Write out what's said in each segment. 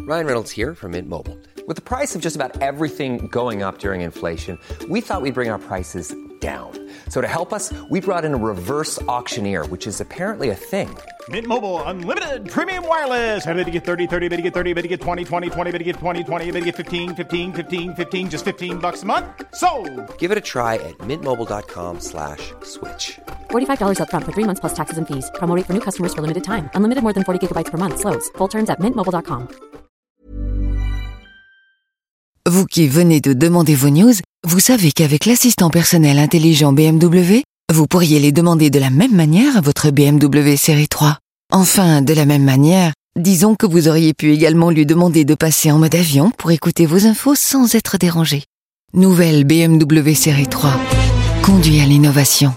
Ryan Reynolds here from Mint Mobile. With the price of just about everything going up during inflation, we thought we'd bring our prices down. So to help us, we brought in a reverse auctioneer, which is apparently a thing. Mint Mobile Unlimited Premium Wireless. How to get 30, 30, bit to get 30, bit to get 20, 20, 20, bit to get 20, 20, bit to get 15, 15, 15, 15, just $15 a month? Sold! Give it a try at mintmobile.com/switch. $45 up front for 3 months plus taxes and fees. Promo rate for new customers for limited time. Unlimited more than 40 gigabytes per month. Slows full terms at mintmobile.com. Vous qui venez de demander vos news, vous savez qu'avec l'assistant personnel intelligent BMW, vous pourriez les demander de la même manière à votre BMW série 3. Enfin, de la même manière, disons que vous auriez pu également lui demander de passer en mode avion pour écouter vos infos sans être dérangé. Nouvelle BMW série 3. Conduire l'innovation.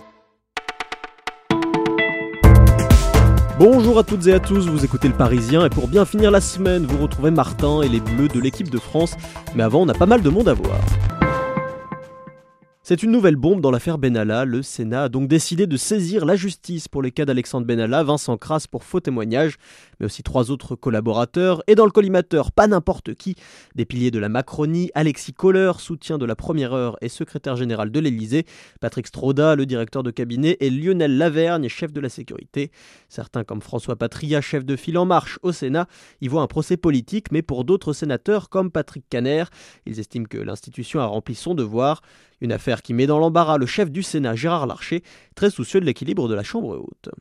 Bonjour à toutes et à tous, vous écoutez Le Parisien et pour bien finir la semaine, vous retrouvez Martin et les Bleus de l'équipe de France. Mais avant, on a pas mal de monde à voir. C'est une nouvelle bombe dans l'affaire Benalla. Le Sénat a donc décidé de saisir la justice pour les cas d'Alexandre Benalla, Vincent Crasse pour faux témoignage, mais aussi 3 autres collaborateurs. Et dans le collimateur, pas n'importe qui, des piliers de la Macronie, Alexis Kohler, soutien de la Première Heure et secrétaire général de l'Élysée, Patrick Stroda, le directeur de cabinet, et Lionel Lavergne, chef de la sécurité. Certains comme François Patria, chef de file En Marche au Sénat, y voient un procès politique, mais pour d'autres sénateurs comme Patrick Kanner, ils estiment que l'institution a rempli son devoir. Une affaire qui met dans l'embarras le chef du Sénat, Gérard Larcher, très soucieux de l'équilibre de la Chambre haute.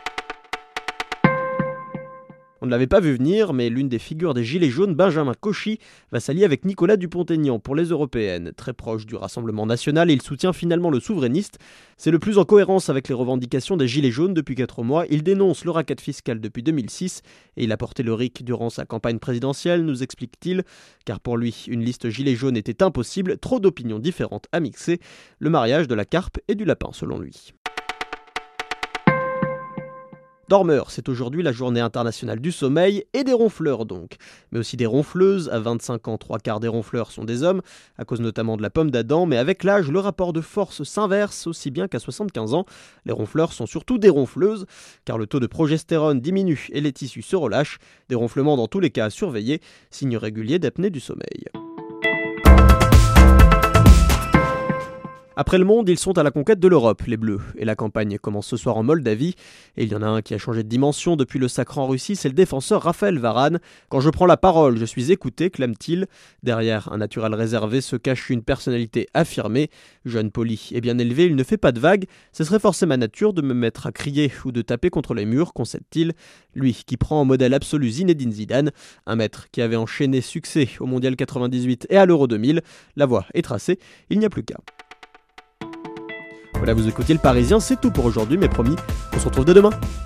On ne l'avait pas vu venir, mais l'une des figures des Gilets jaunes, Benjamin Cauchy, va s'allier avec Nicolas Dupont-Aignan pour les européennes. Très proche du Rassemblement national, il soutient finalement le souverainiste. C'est le plus en cohérence avec les revendications des Gilets jaunes depuis 4 mois. Il dénonce le racket fiscal depuis 2006 et il a porté le RIC durant sa campagne présidentielle, nous explique-t-il. Car pour lui, une liste Gilets jaunes était impossible, trop d'opinions différentes à mixer. Le mariage de la carpe et du lapin, selon lui. Dormeurs, c'est aujourd'hui la journée internationale du sommeil et des ronfleurs donc, mais aussi des ronfleuses. À 25 ans, 3/4 des ronfleurs sont des hommes, à cause notamment de la pomme d'Adam, mais avec l'âge, le rapport de force s'inverse aussi bien qu'à 75 ans. Les ronfleurs sont surtout des ronfleuses, car le taux de progestérone diminue et les tissus se relâchent. Des ronflements dans tous les cas à surveiller, signe régulier d'apnée du sommeil. Après le monde, ils sont à la conquête de l'Europe, les Bleus. Et la campagne commence ce soir en Moldavie. Et il y en a un qui a changé de dimension depuis le sacre en Russie, c'est le défenseur Raphaël Varane. Quand je prends la parole, je suis écouté, clame-t-il. Derrière un naturel réservé se cache une personnalité affirmée. Jeune, poli et bien élevé, il ne fait pas de vagues. Ce serait forcer ma nature de me mettre à crier ou de taper contre les murs, concède-t-il. Lui qui prend en modèle absolu Zinedine Zidane, un maître qui avait enchaîné succès au Mondial 98 et à l'Euro 2000. La voie est tracée, il n'y a plus qu'à. Voilà, vous écoutez Le Parisien, c'est tout pour aujourd'hui, mais promis, on se retrouve dès demain.